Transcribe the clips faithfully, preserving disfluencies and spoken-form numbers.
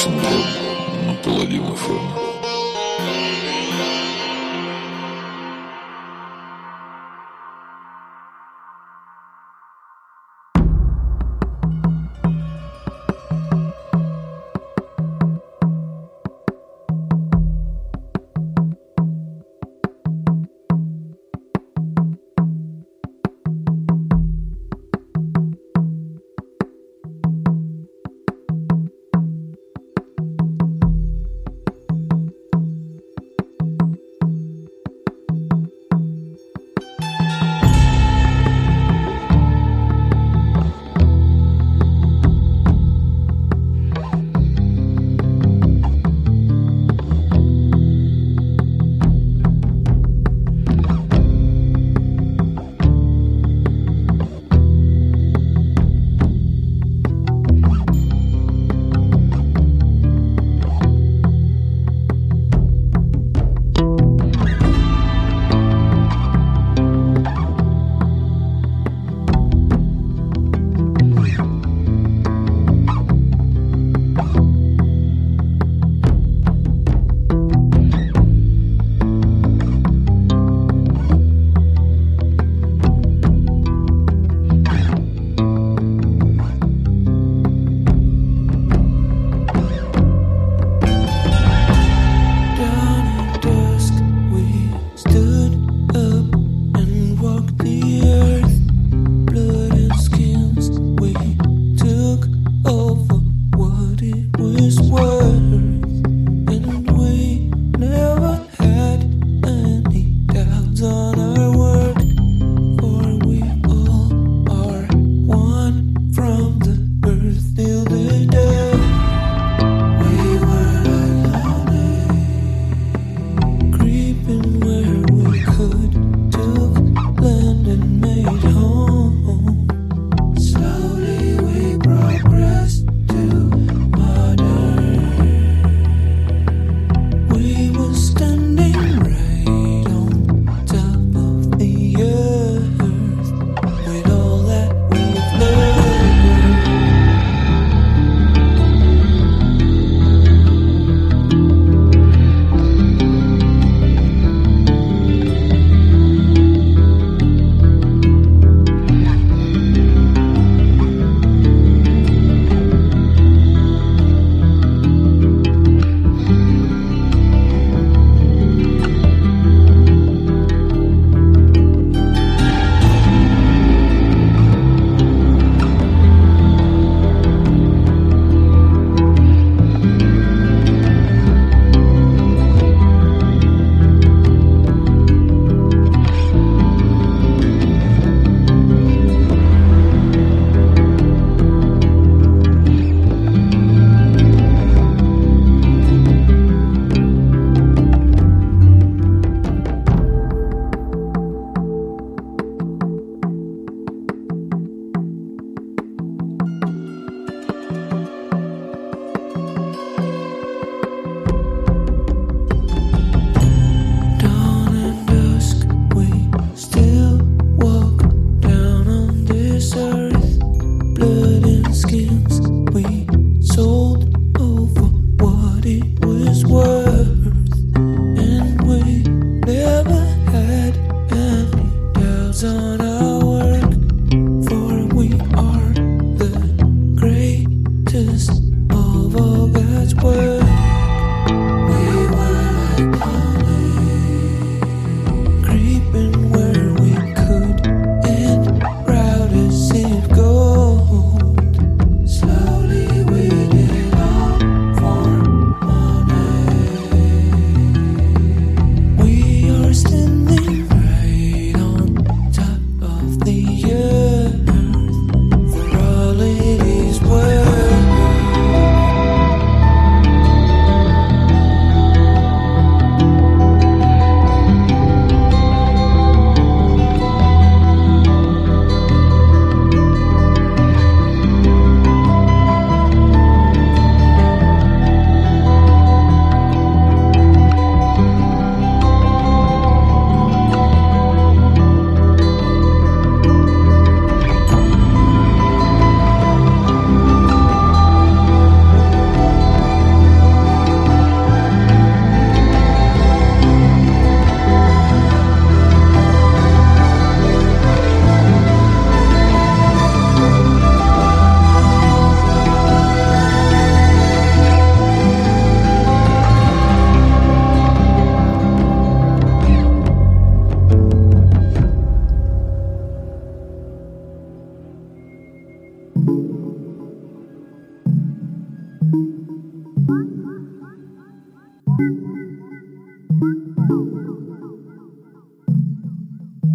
синдром наполовину фона.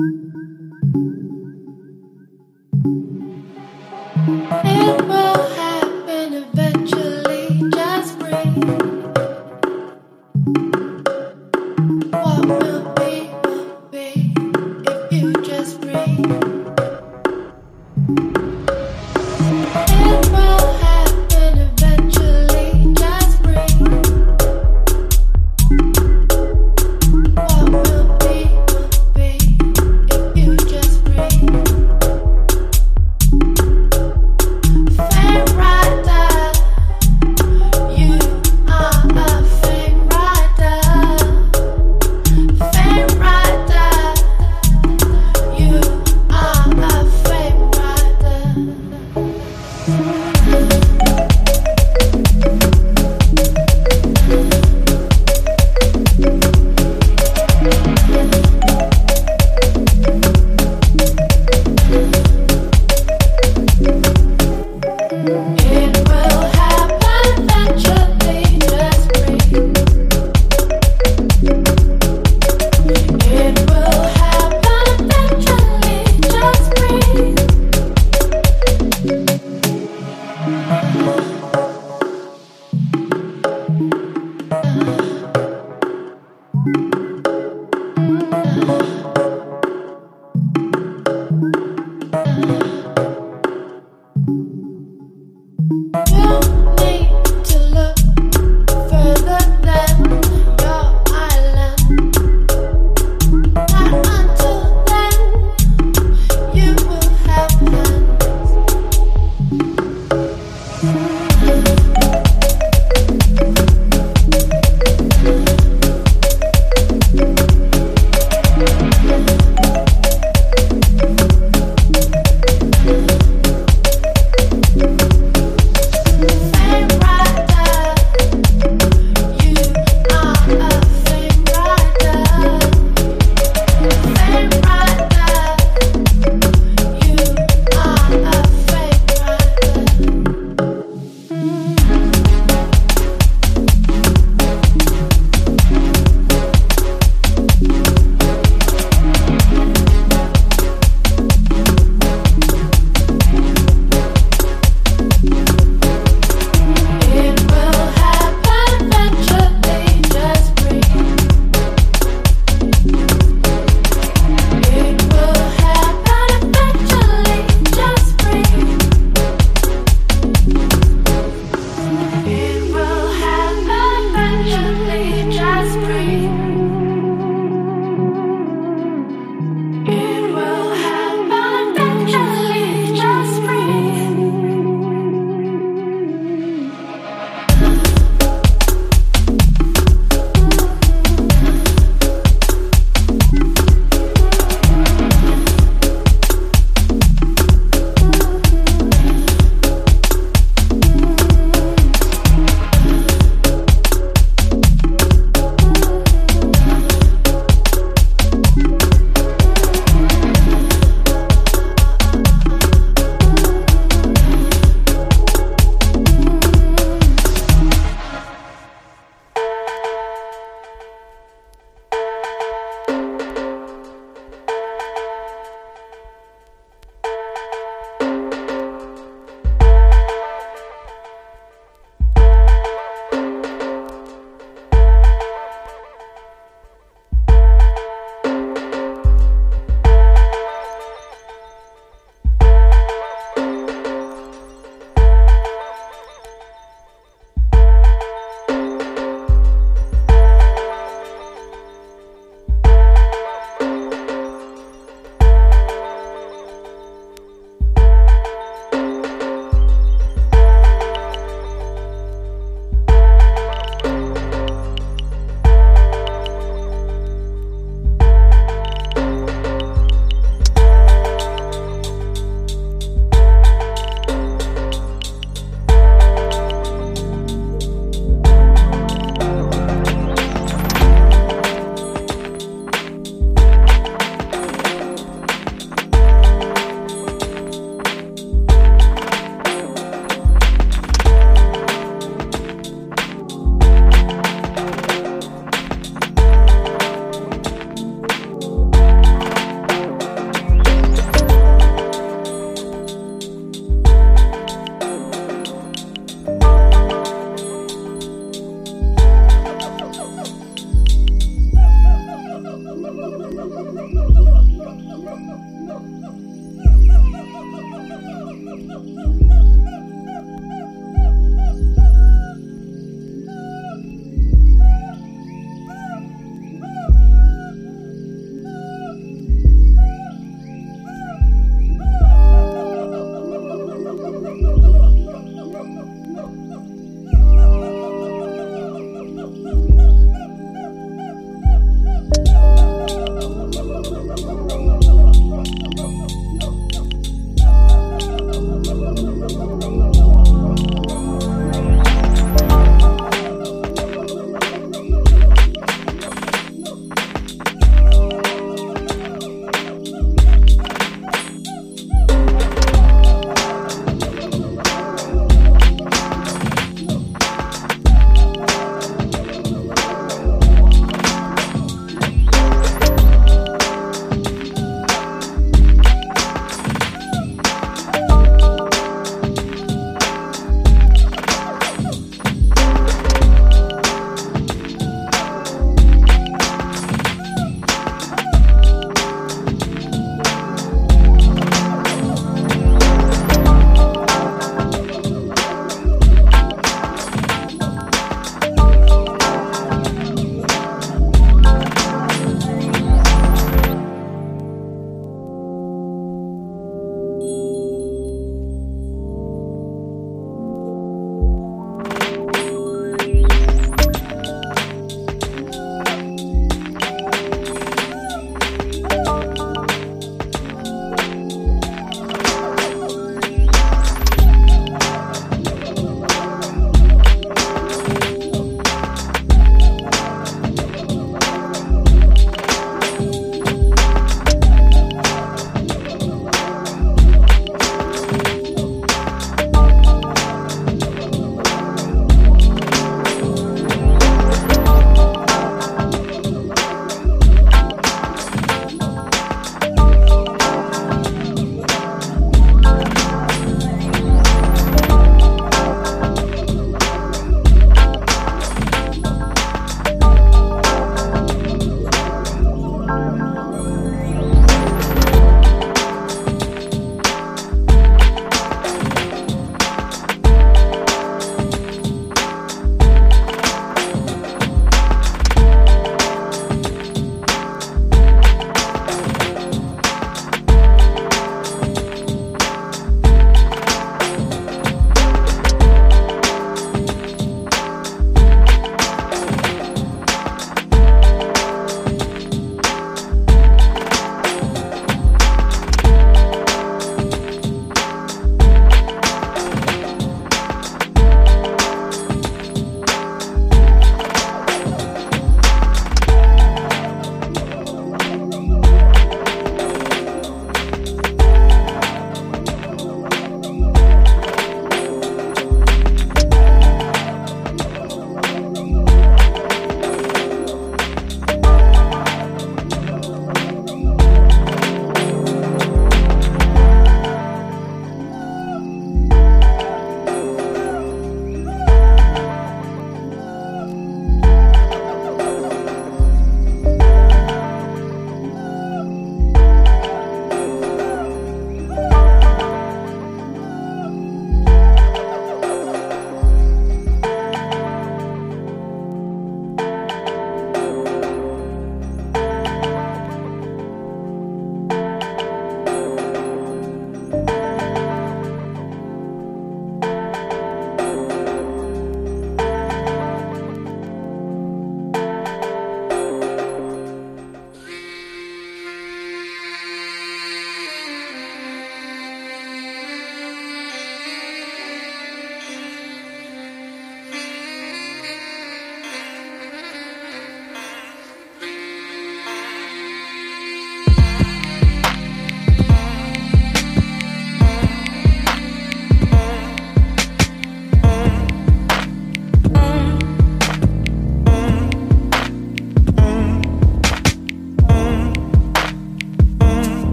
You are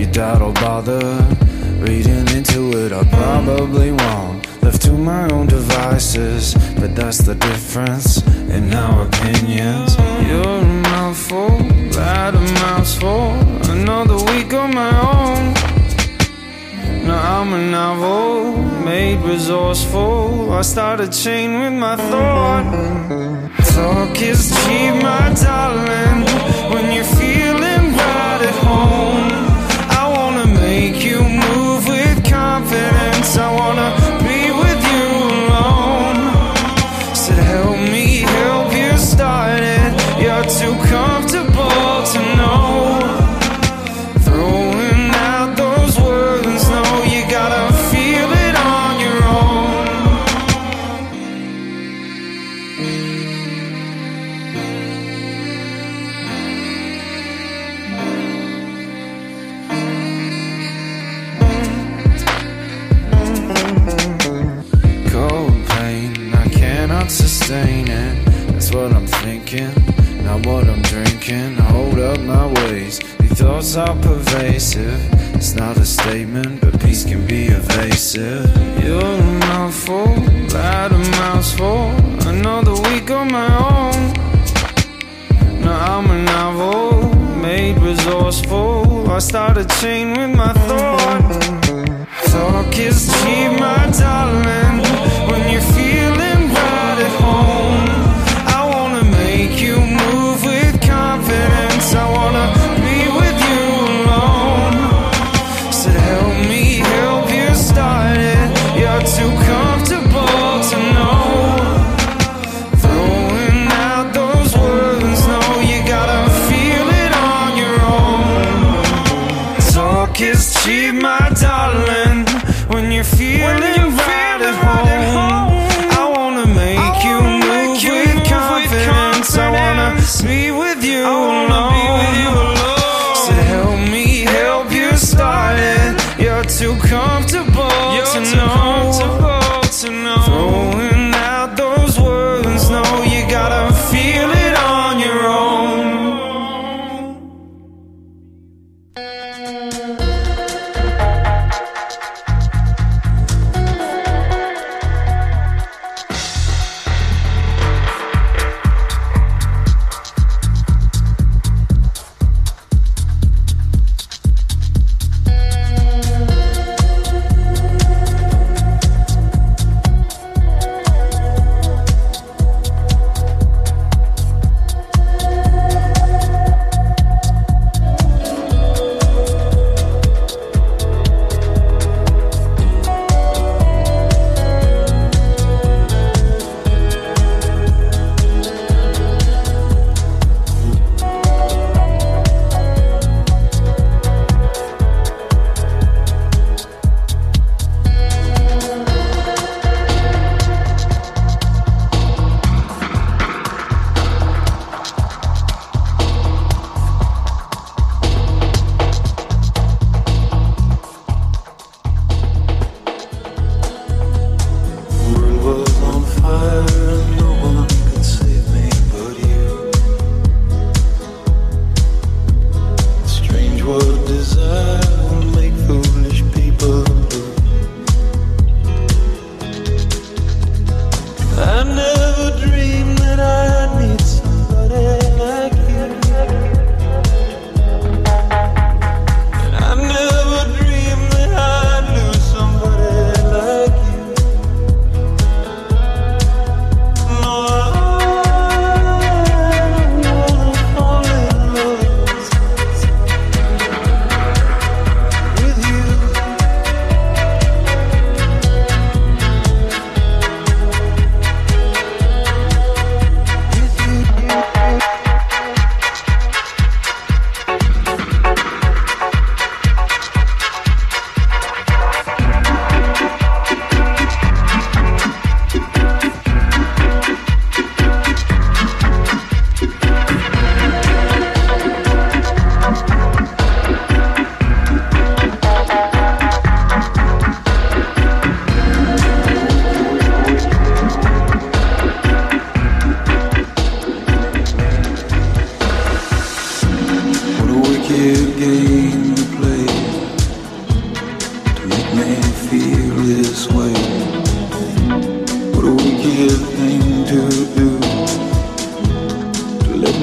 doubt or bother reading into it. I probably won't, left to my own devices, but that's the difference in our opinions. You're a mouthful, that a mouthful, another week on my own. Now I'm a novel, made resourceful. I start a chain with my thought. Talk is cheap, my darling, when you're feeling right at home. I wanna make you move with confidence. I wanna be with you alone. Said help me help you start it. You're too comfortable to know. Throwing out those words, no, you gotta feel it on your own. Cold pain, I cannot sustain it. That's what I'm thinking, not what I'm drinking. Hold up my ways, these thoughts are pervasive. It's not a statement, but peace can be evasive. You're a mouthful, that a mouthful, another week on my own. Now I'm a novel, made resourceful. I start a chain with my thought. Talk is cheap, my darling, when you're feeling right at home. I wanna make you move with confidence. I wanna be with you alone. Said help me help you start it. You're too comfortable to know. Throwing out those words, no, you gotta feel it on your own. Talk is cheap, my darling, when you're feeling right at home.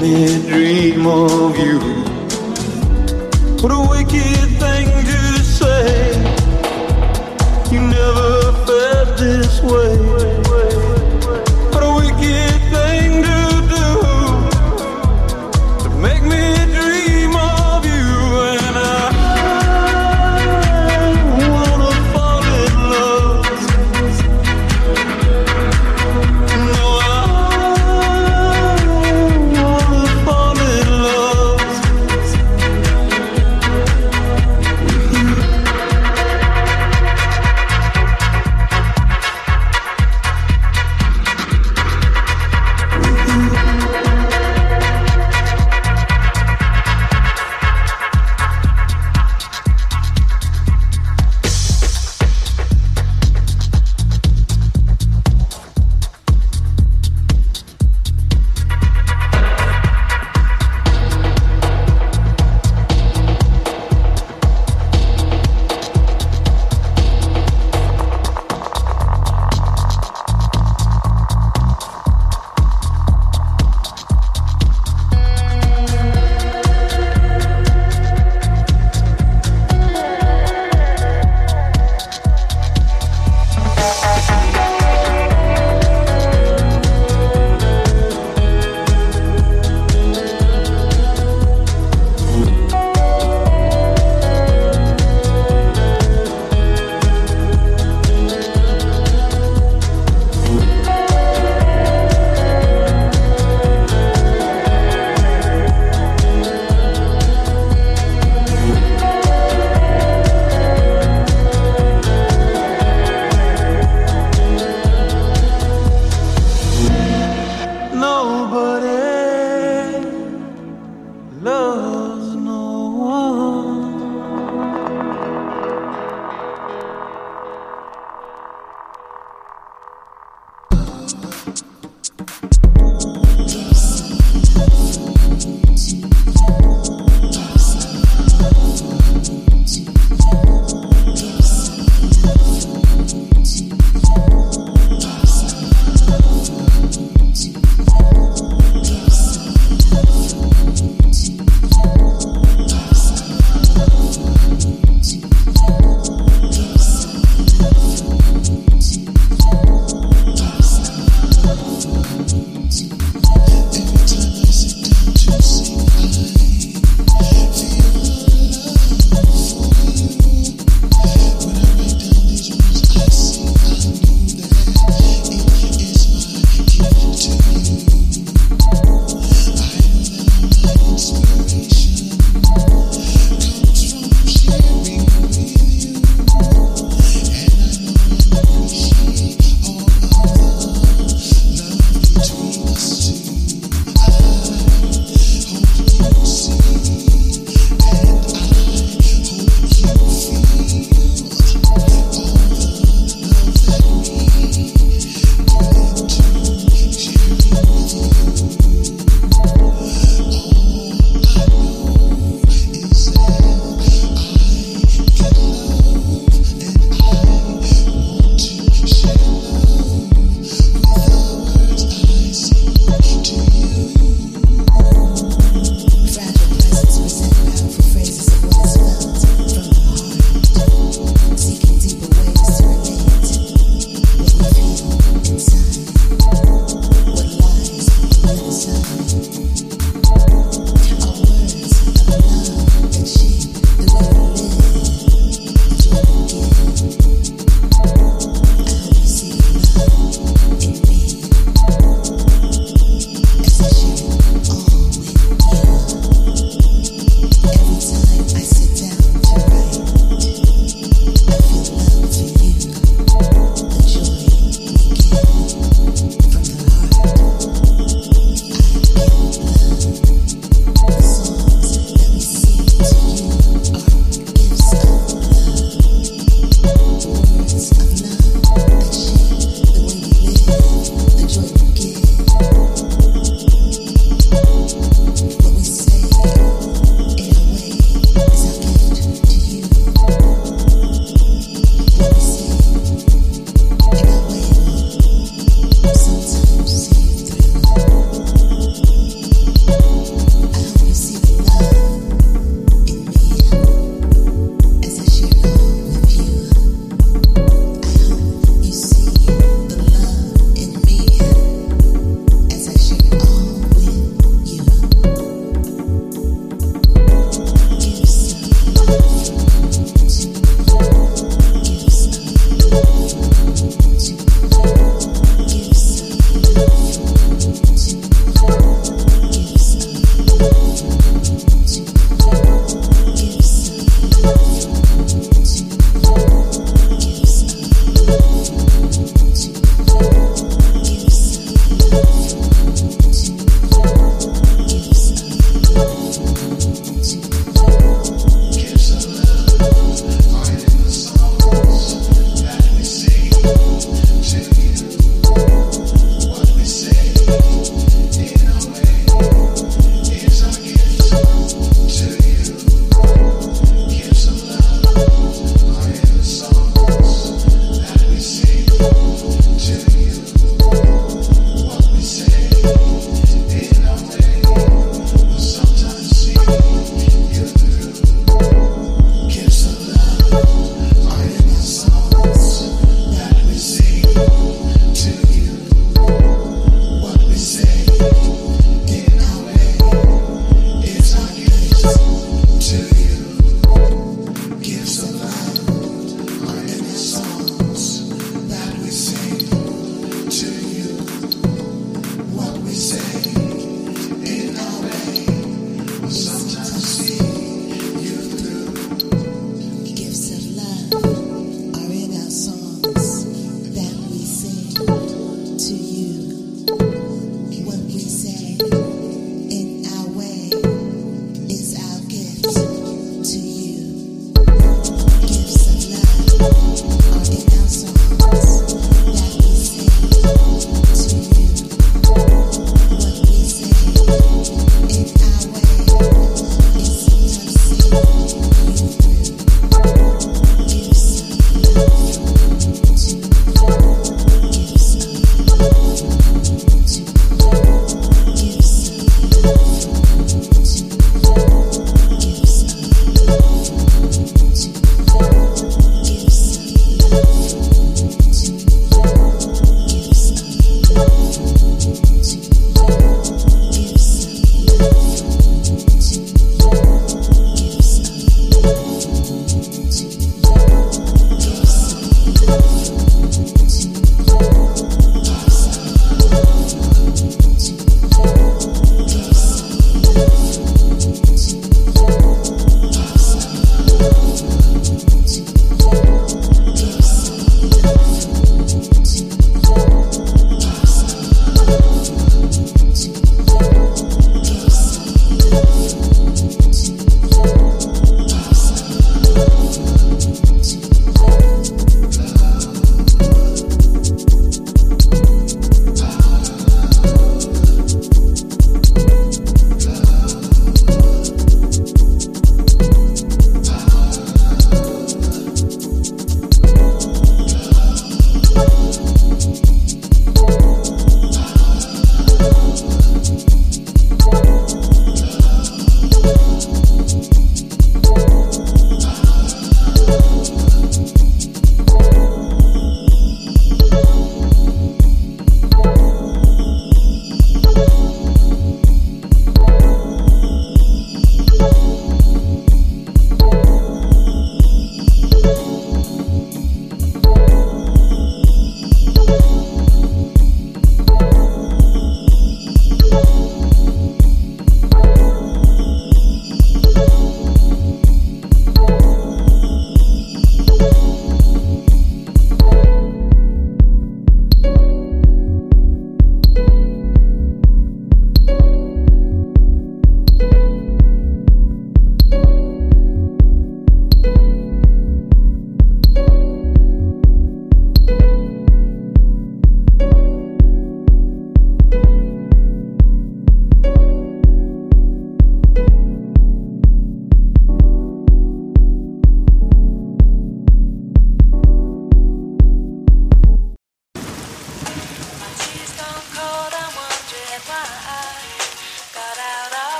me dream of you. What a wicked thing to say. You never felt this way. What a wicked thing to do, to make me dream of you. And I wanna fall in love. No, I wanna fall in love.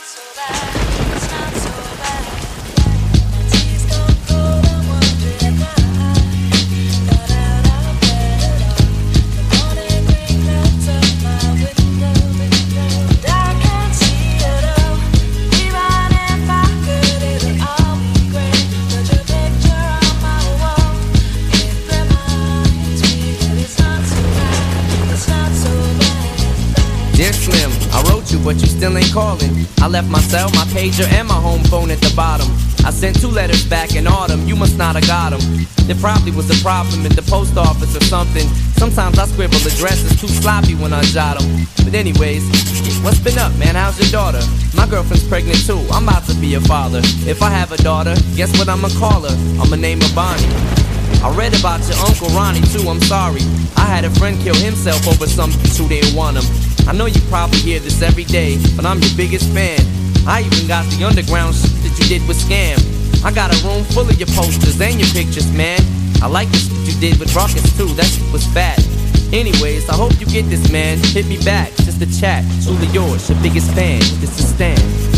But you still ain't calling. I left my cell, my pager, and my home phone at the bottom. I sent two letters back in autumn, you must not have got them. There probably was a problem in the post office or something. Sometimes I scribble addresses too sloppy when I jot them. But anyways, what's been up, man? How's your daughter? My girlfriend's pregnant too, I'm about to be a father. If I have a daughter, guess what I'ma call her? I'ma name her Bonnie. I read about your Uncle Ronnie too, I'm sorry. I had a friend kill himself over some bitch who didn't want him. I know you probably hear this every day, but I'm your biggest fan. I even got the underground shit that you did with Scam. I got a room full of your posters and your pictures, man. I like the shit you did with Ruckus too, that shit was fat. Anyways, I hope you get this, man. Hit me back, just a chat. Truly yours, your biggest fan. This is Stan.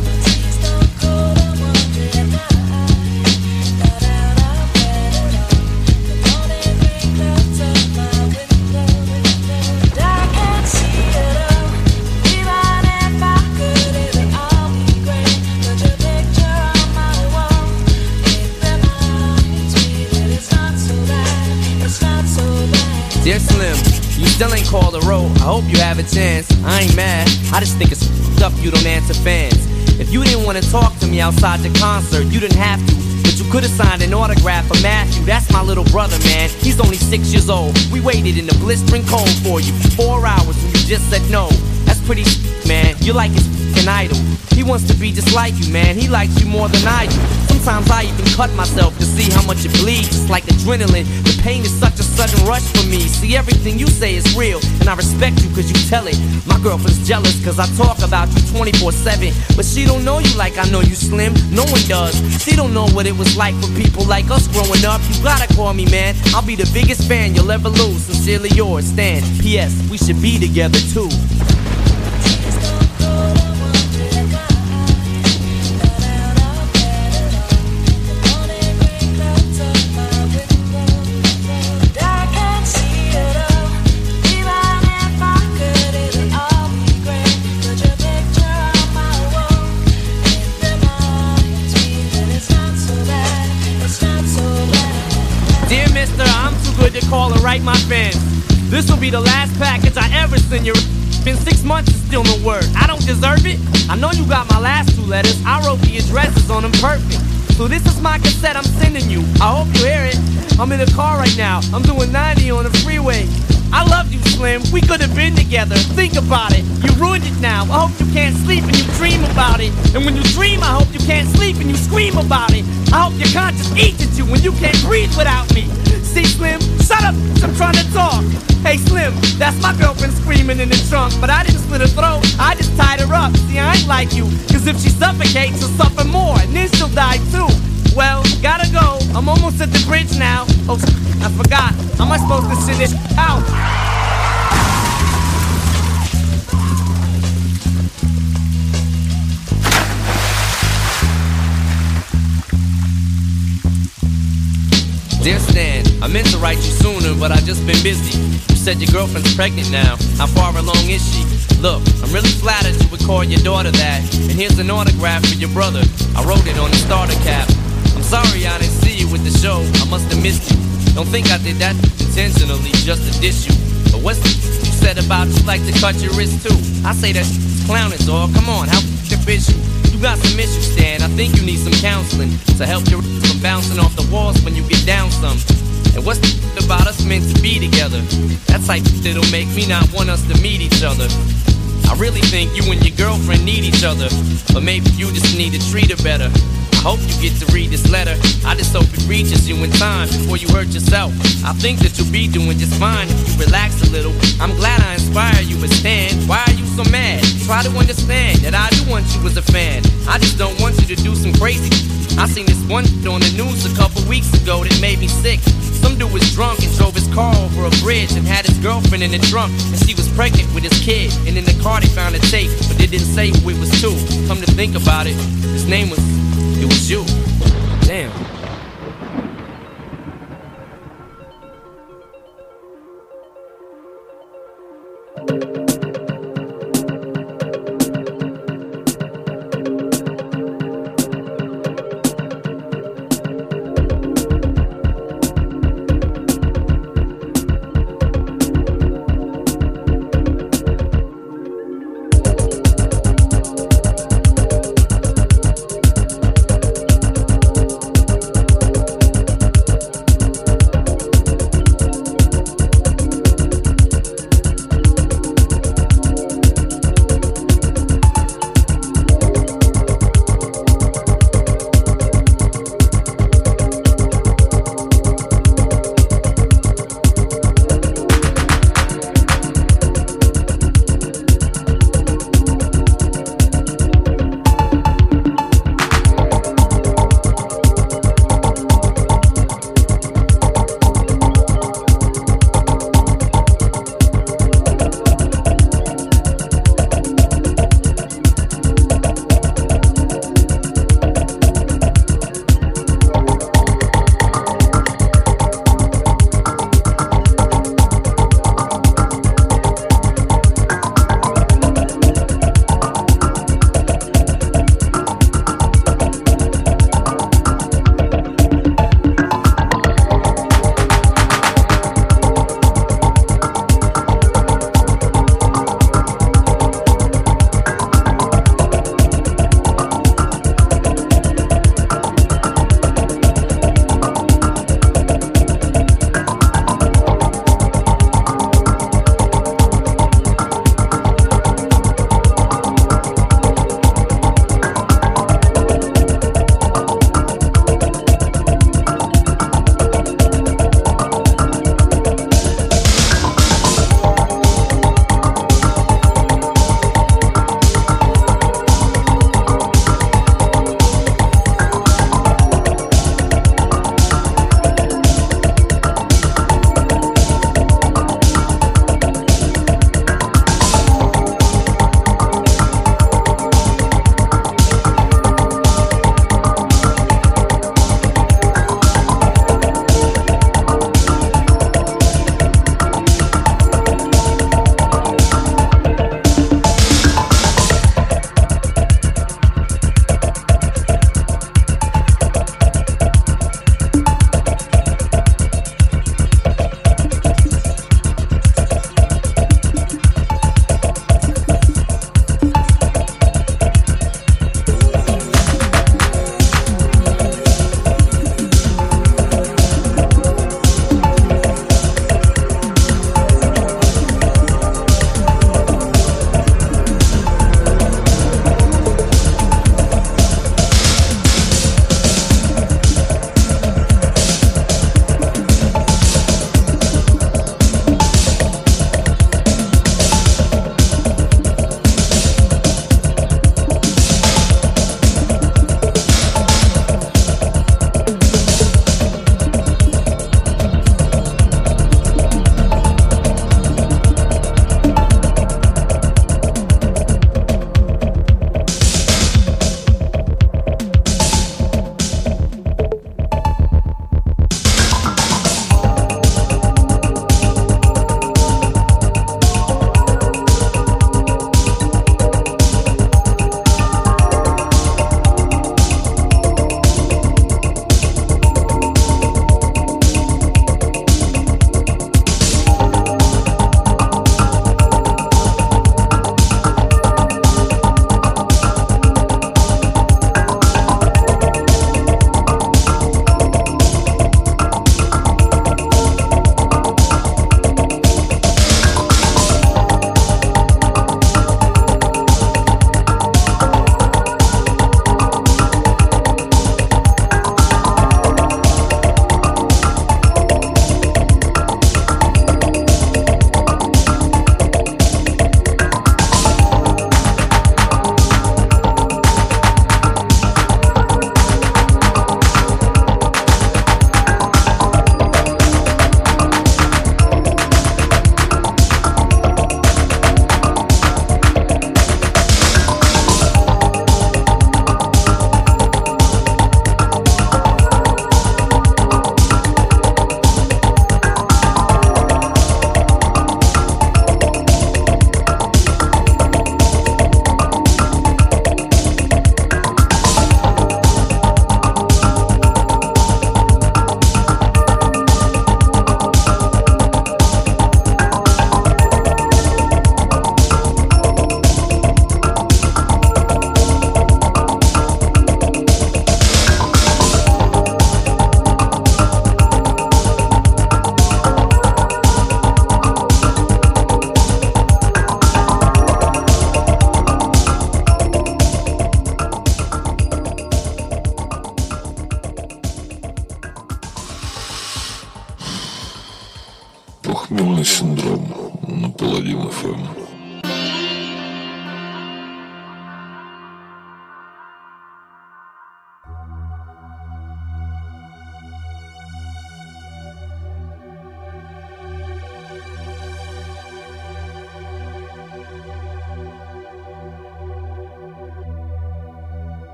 Dear Slim, you still ain't called a roll. I hope you have a chance. I ain't mad. I just think it's f***ed up you don't answer fans. If you didn't want to talk to me outside the concert, you didn't have to. But you could have signed an autograph for Matthew. That's my little brother, man. He's only six years old. We waited in the blistering cold for you for four hours and you just said no. That's pretty s***, man. You're like his f***ing idol. He wants to be just like you, man. He likes you more than I do. Sometimes I even cut myself to see how much it bleeds. It's like adrenaline. The pain is such a sudden rush for me. See, everything you say is real, and I respect you cause you tell it. My girlfriend's jealous cause I talk about you twenty-four seven. But she don't know you like I know you, Slim. No one does. She don't know what it was like for people like us growing up. You gotta call me, man. I'll be the biggest fan you'll ever lose. Sincerely yours, Stan. P S. We should be together too. Call and write my fans. This will be the last package I ever send you. Been six months and still no word. I don't deserve it. I know you got my last two letters. I wrote the addresses on them perfect. So this is my cassette I'm sending you. I hope you hear it. I'm in the car right now. I'm doing ninety on the freeway. I love you, Slim. We could have been together. Think about it. You ruined it now. I hope you can't sleep and you dream about it. And when you dream, I hope you can't sleep and you scream about it. I hope your conscience eats at you when you can't breathe without me. See, Slim, shut up, I'm trying to talk. Hey, Slim, that's my girlfriend screaming in the trunk. But I didn't slit her throat, I just tied her up. See, I ain't like you, cause if she suffocates, she'll suffer more, and then she'll die too. Well, gotta go, I'm almost at the bridge now. Oh, I forgot, how am I supposed to send this out? Dear Stan, I meant to write you sooner, but I just been busy. You said your girlfriend's pregnant now. How far along is she? Look, I'm really flattered you would call your daughter that. And here's an autograph for your brother. I wrote it on the starter cap. I'm sorry I didn't see you with the show. I must have missed you. Don't think I did that intentionally just to diss you. But what's the you said about you like to cut your wrist too? I say that clowning, dog. Come on, how f***ing is you? You got some issues, Stan. I think you need some counseling to help your from bouncing off the walls when you get down some. And what's the about us meant to be together? That's like that'll make me not want us to meet each other. I really think you and your girlfriend need each other, but maybe you just need to treat her better. I hope you get to read this letter. I just hope it reaches you in time before you hurt yourself. I think that you'll be doing just fine if you relax a little. I'm glad I inspire you, but Stan, why are you so mad? Try to understand that I do want you as a fan. I just don't want you to do some crazy. I seen this one on the news a couple weeks ago that made me sick. Some dude was drunk and drove his car over a bridge and had his girlfriend in the trunk, and she was pregnant with his kid. And in the car they found a tape, but it didn't say who it was to. Come to think about it, his name was, it was you. Damn. эф эм.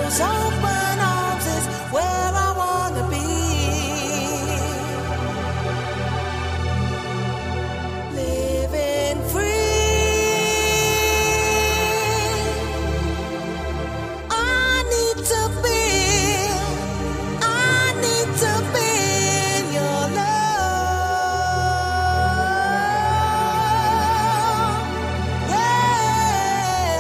those open arms is where I wanna be. Living free. I need to be, I need to be in your love. Yeah.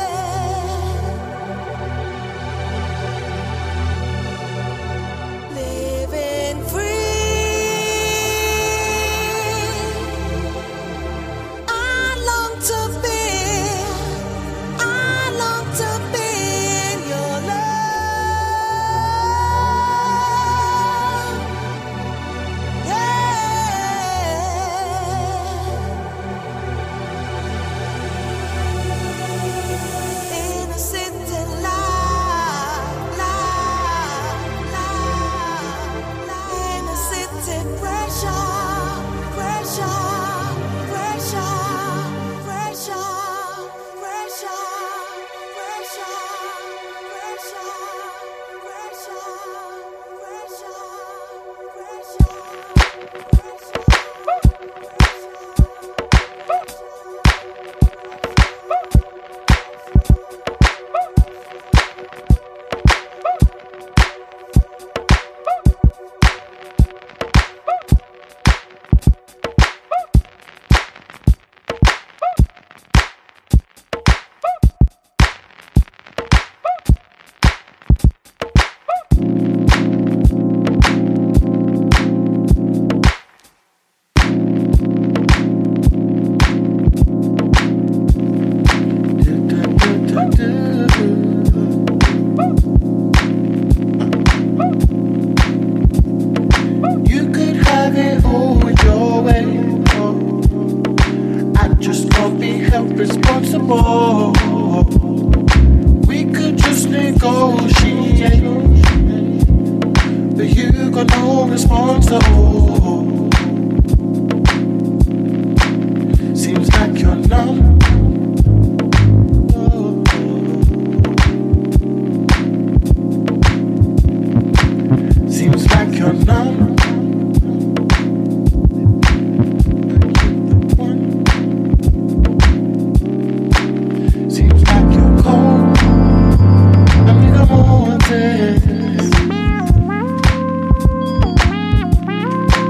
Living free. I long to be, I long to be in your love. Yeah. Innocent and light, light, light, light. Innocent and pressure, pressure, pressure, pressure, pressure, pressure, pressure, You could have it all your way. I just can't be held responsible. We could just negotiate, but you got no response at all. Seems like you're numb. Seems like you're numb. Seems like you're cold. I need a more this.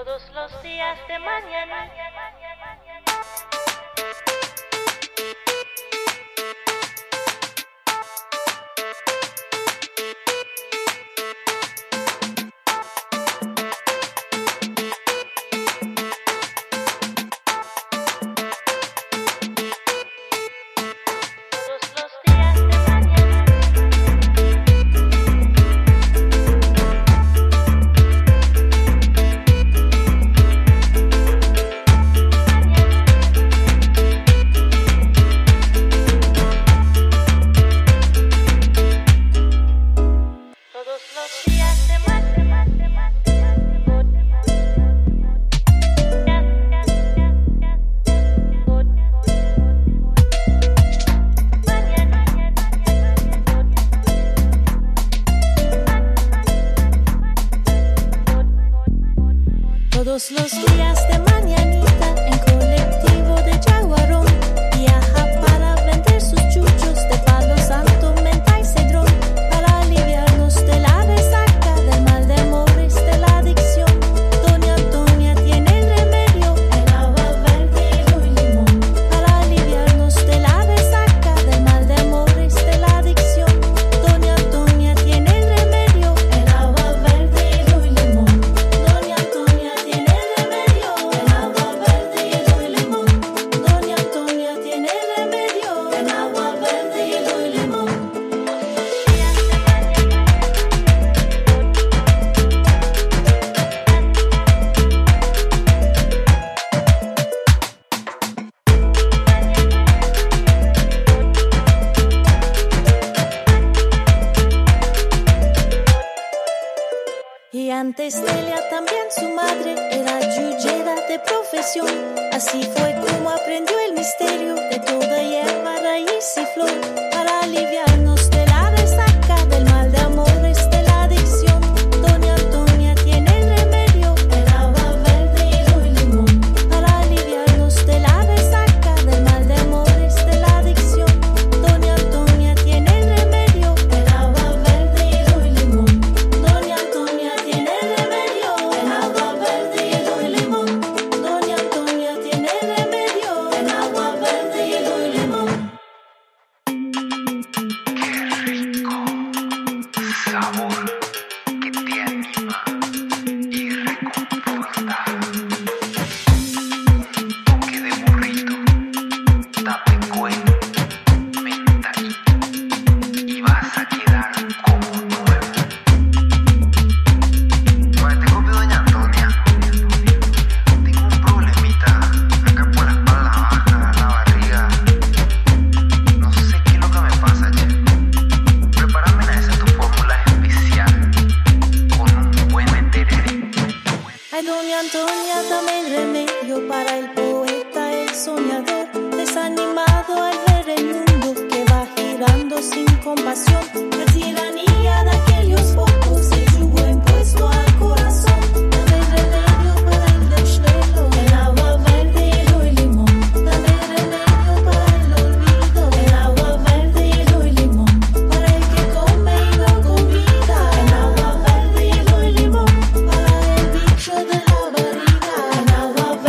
Todos los días de mañana. Todos los días de mañanita en colectivo de Jaguarón viaja para vender sus chuchos de Palo Santo, menta y cedrón, para aliviarnos de la resaca, del mal de amores, de la adicción. Doña Antonia tiene el remedio, el agua verde, hielo y limón, para aliviarnos de la resaca, del mal de amores, de la adicción. Doña Antonia tiene el remedio, el agua verde, hielo y limón. Doña Antonia tiene el remedio, el agua verde, hielo y limón. Doña Antonia tiene el remedio, el agua verde, hielo y limón. Y antes de ella también su madre era yuyera de profesión. Así fue como aprendió el misterio de toda hierba, raíz y flor, para aliviarnos de la resaca, del mal de amores, de la adicción. Doña Antonia tiene el remedio, el agua verde, hielo y limón, para aliviarnos de la resaca, del mal de amores, de la adicción. Doña Antonia tiene el remedio, el agua verde, hielo y limón. Doña Antonia tiene el remedio, el agua verde, hielo y limón. Doña Antonia tiene el remedio, el agua verde, hielo y limón. Sabor que te anima y reconforta. Un toque de burrito, tapecuén, menta y vas a quedar como nuevo. Bueno, te copio, doña Antonia. Tengo un problemita acá por la espalda baja, la barriga. No sé qué es lo que me pasa, che. Prepárame una de esas tu fórmula especial con un buen enterere. Ay, doña Antonia, dame el remedio para el poeta, el soñador, desanimado al ver el mundo que va girando sin compasión. La tiranía de aquellos pocos, el yugo impuesto al corazón. Dame el remedio para el desvelo, el agua verde, hielo y limón. Dame el remedio para el olvido, el agua verde, hielo y limón. Para el que come y no convida, el agua verde, hielo y limón. Para el bicho de la barriga, el agua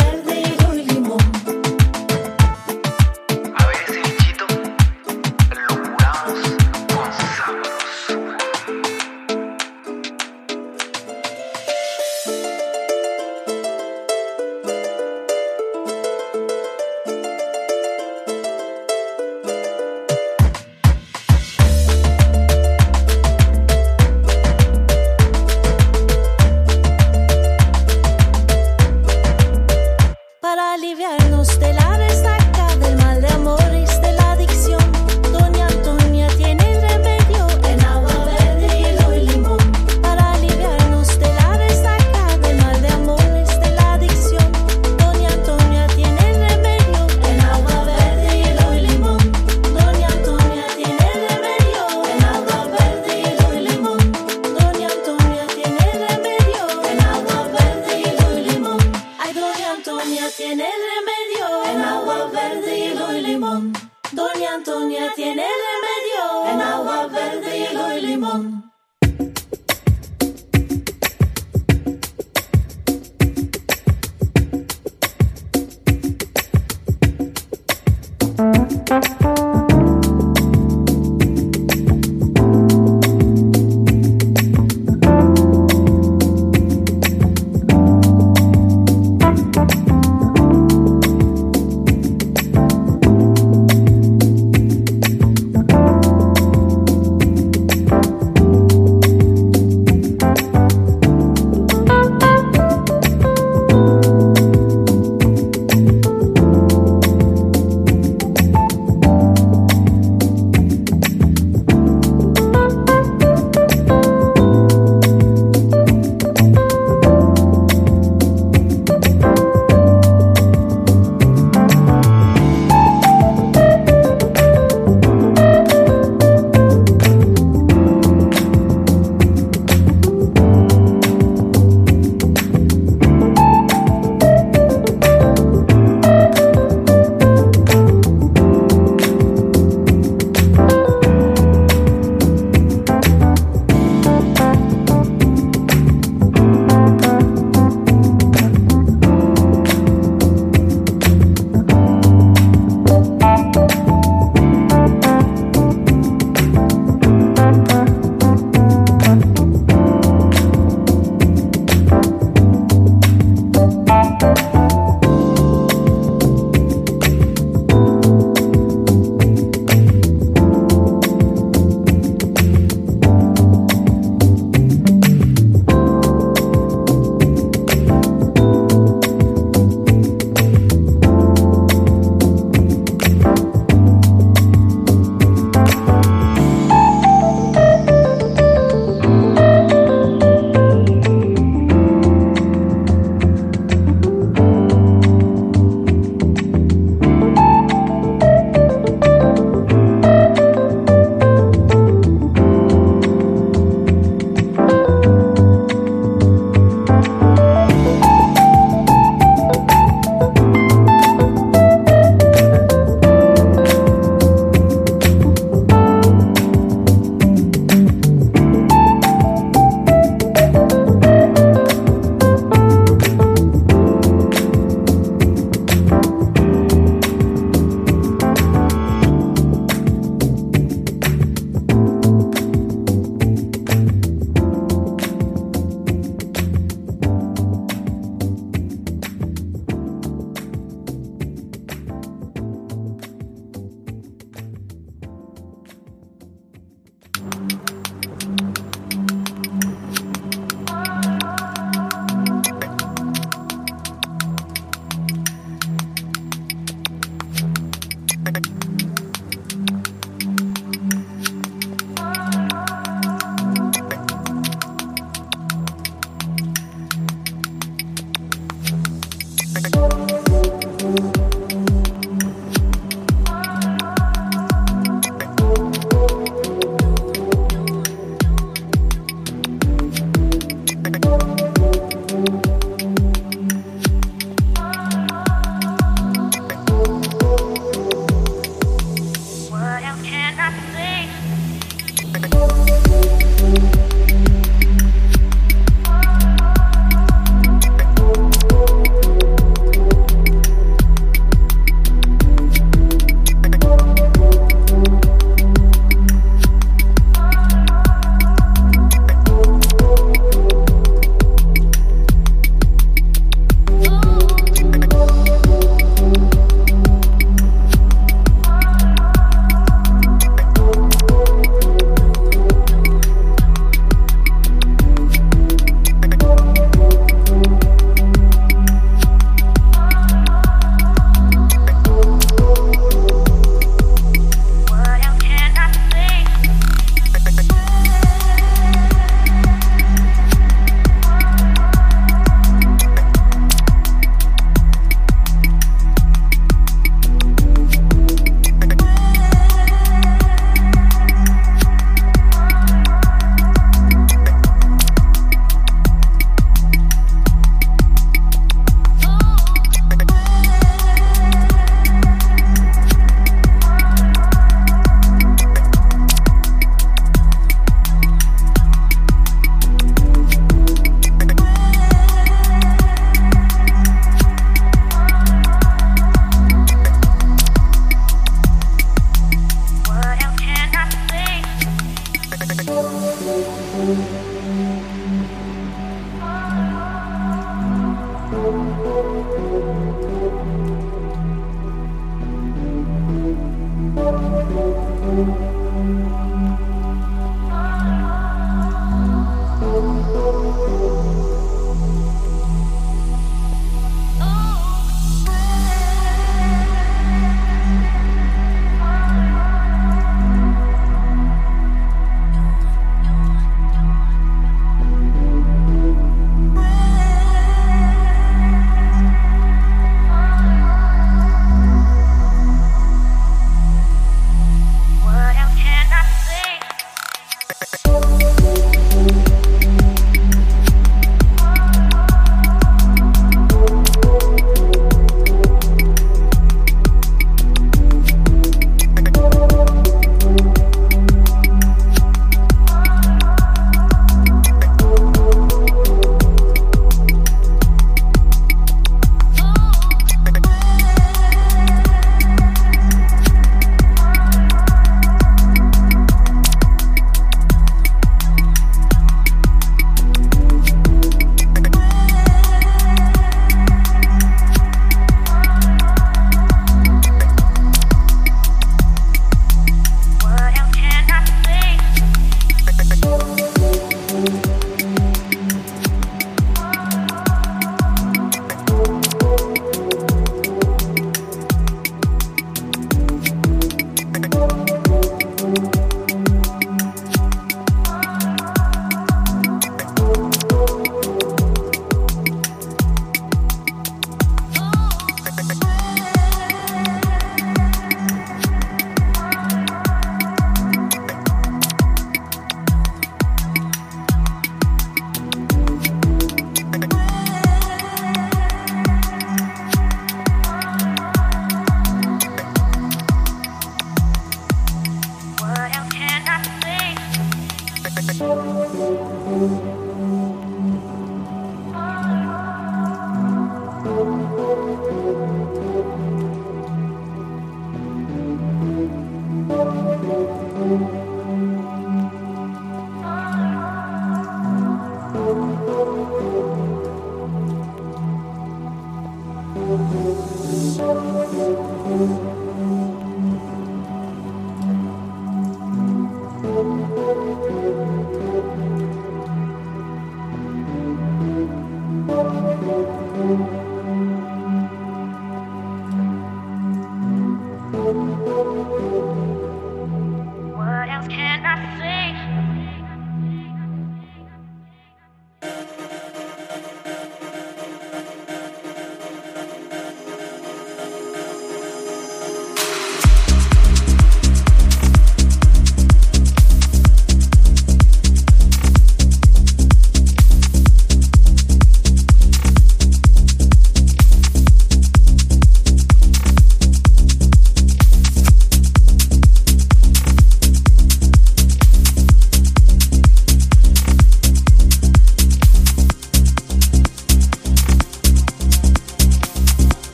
What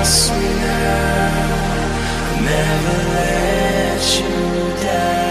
trust me now, I'll never let you down.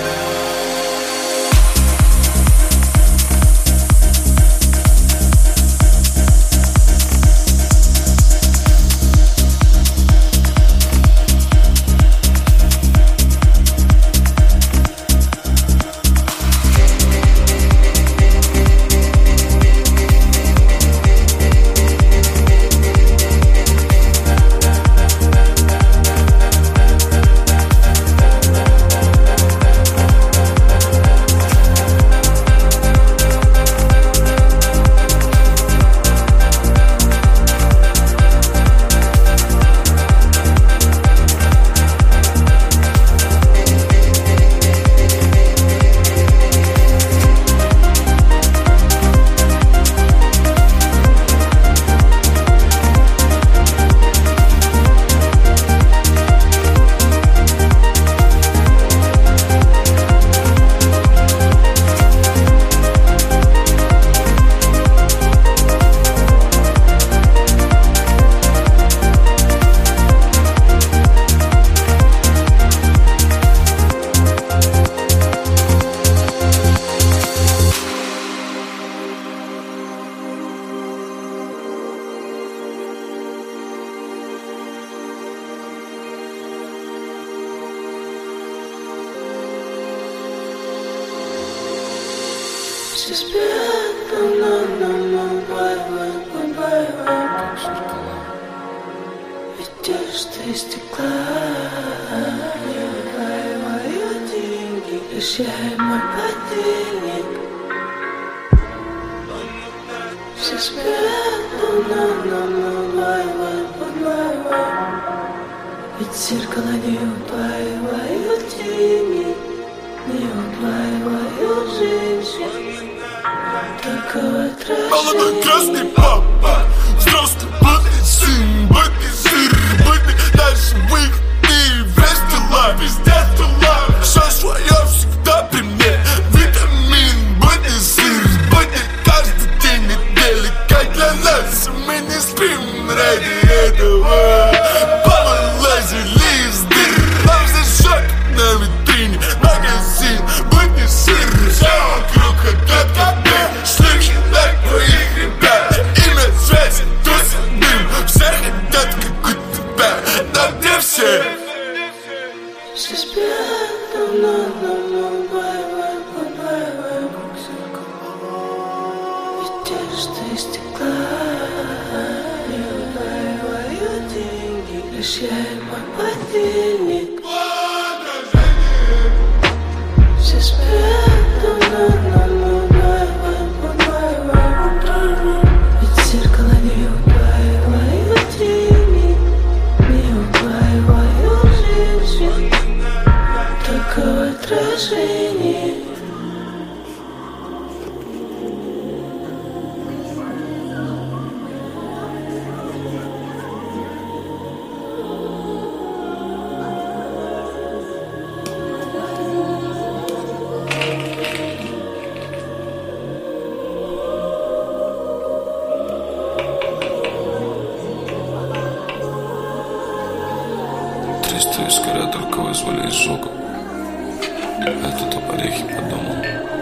Молодой красный папа, взрослый блудный сын, бытный сыр, бытный, дальше выгодный, весь дела, пиздец дела. Все свое всегда при мне, витамин, бытный сыр, бытный каждый день недели, как для нас. Мы не спим ради этого, повылазили из дыр. Нам зажжет на витрине магазин, бытный сыр, все вокруг хотят как бы. Шлюхи на твоих ребят, имя, связь, тусит дым. Все хотят как у тебя, там где все. Все спят, давно, давно, бай-бай, бай-бай, как зеркало. Ведь одежда из стекла, не убиваю деньги, лишь я и мой подельник. Все спят, давно, давно, бай-бай, бай-бай. Ведь зеркало не убиваю деньги, не убиваю жизнь. Такое отражение. Триста искоря только вызвали изжогу. Я тут об орехе подумал.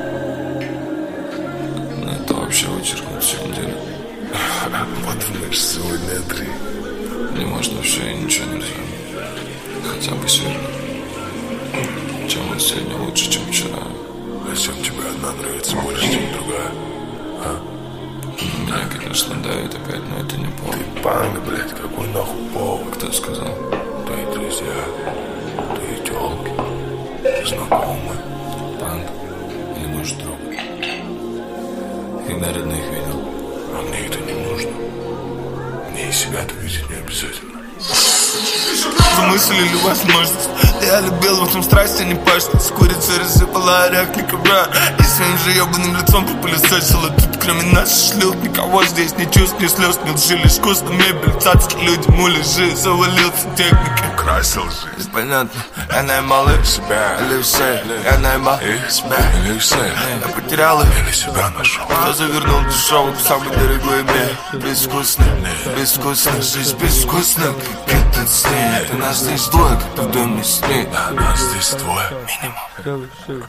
Но это вообще вычеркнуть всю неделю. Вот мы ж сегодня три. Не можно все и ничего нельзя. Хотя бы сегодня. Чем вот сегодня лучше, чем вчера. А чем тебе одна нравится больше, чем другая? А? Меня, конечно, давит опять, но это не повод. Ты панк, блядь, какой нахуй повод? Кто сказал? Твои друзья, твои тёлки, знакомые. Панк? Или может друг? Когда родных видел? А мне это не нужно. Мне и себя-то видеть не обязательно. за мысль или возможность. Я любил в этом страсть, а не пашность. Курица рассыпала оряк, не ковра. И своим же ебаным лицом попылесосила. Тут кроме нас шлют никого здесь. Ни чувств, ни слез, ни лжи. Лишь вкусно мебель, цацки, люди, муляжи. Завалился техникой, украсил жизнь. Понятно, я наебал их себя или все. Я наебал их себя или все. Я потерял их или себя нашел. Кто завернул дешевый в самый дорогой мир. Безвкусно, безвкусно, жизнь безвкусна. Как этот снег. Это нас здесь двое, как в доме с ней. Да, нас здесь двое, минимум.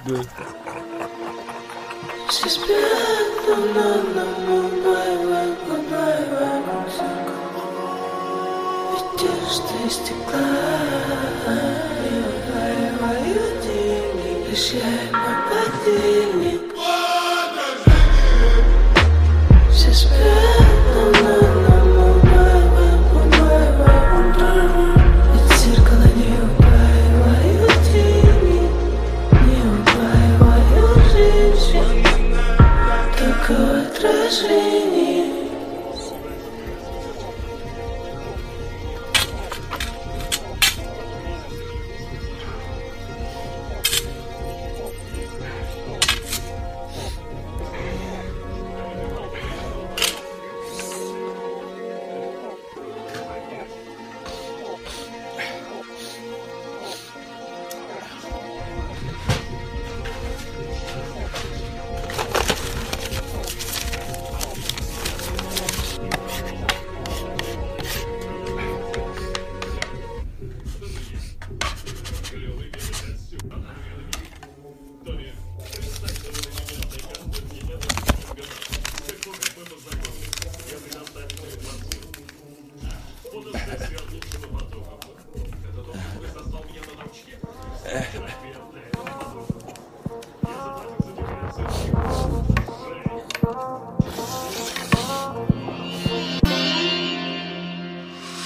Ты стекла, и удваиваю деньги, прощай мой подельник. Все спят, но на нам удваиваем, удваиваем, удваиваем. Ведь зеркало не удваивают деньги, не удваивают жизнь, только отражение.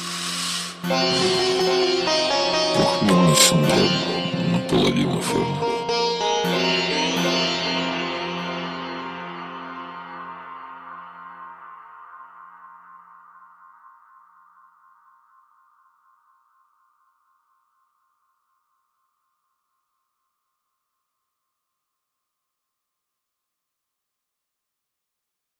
Похмельный синдром, наполовину формы.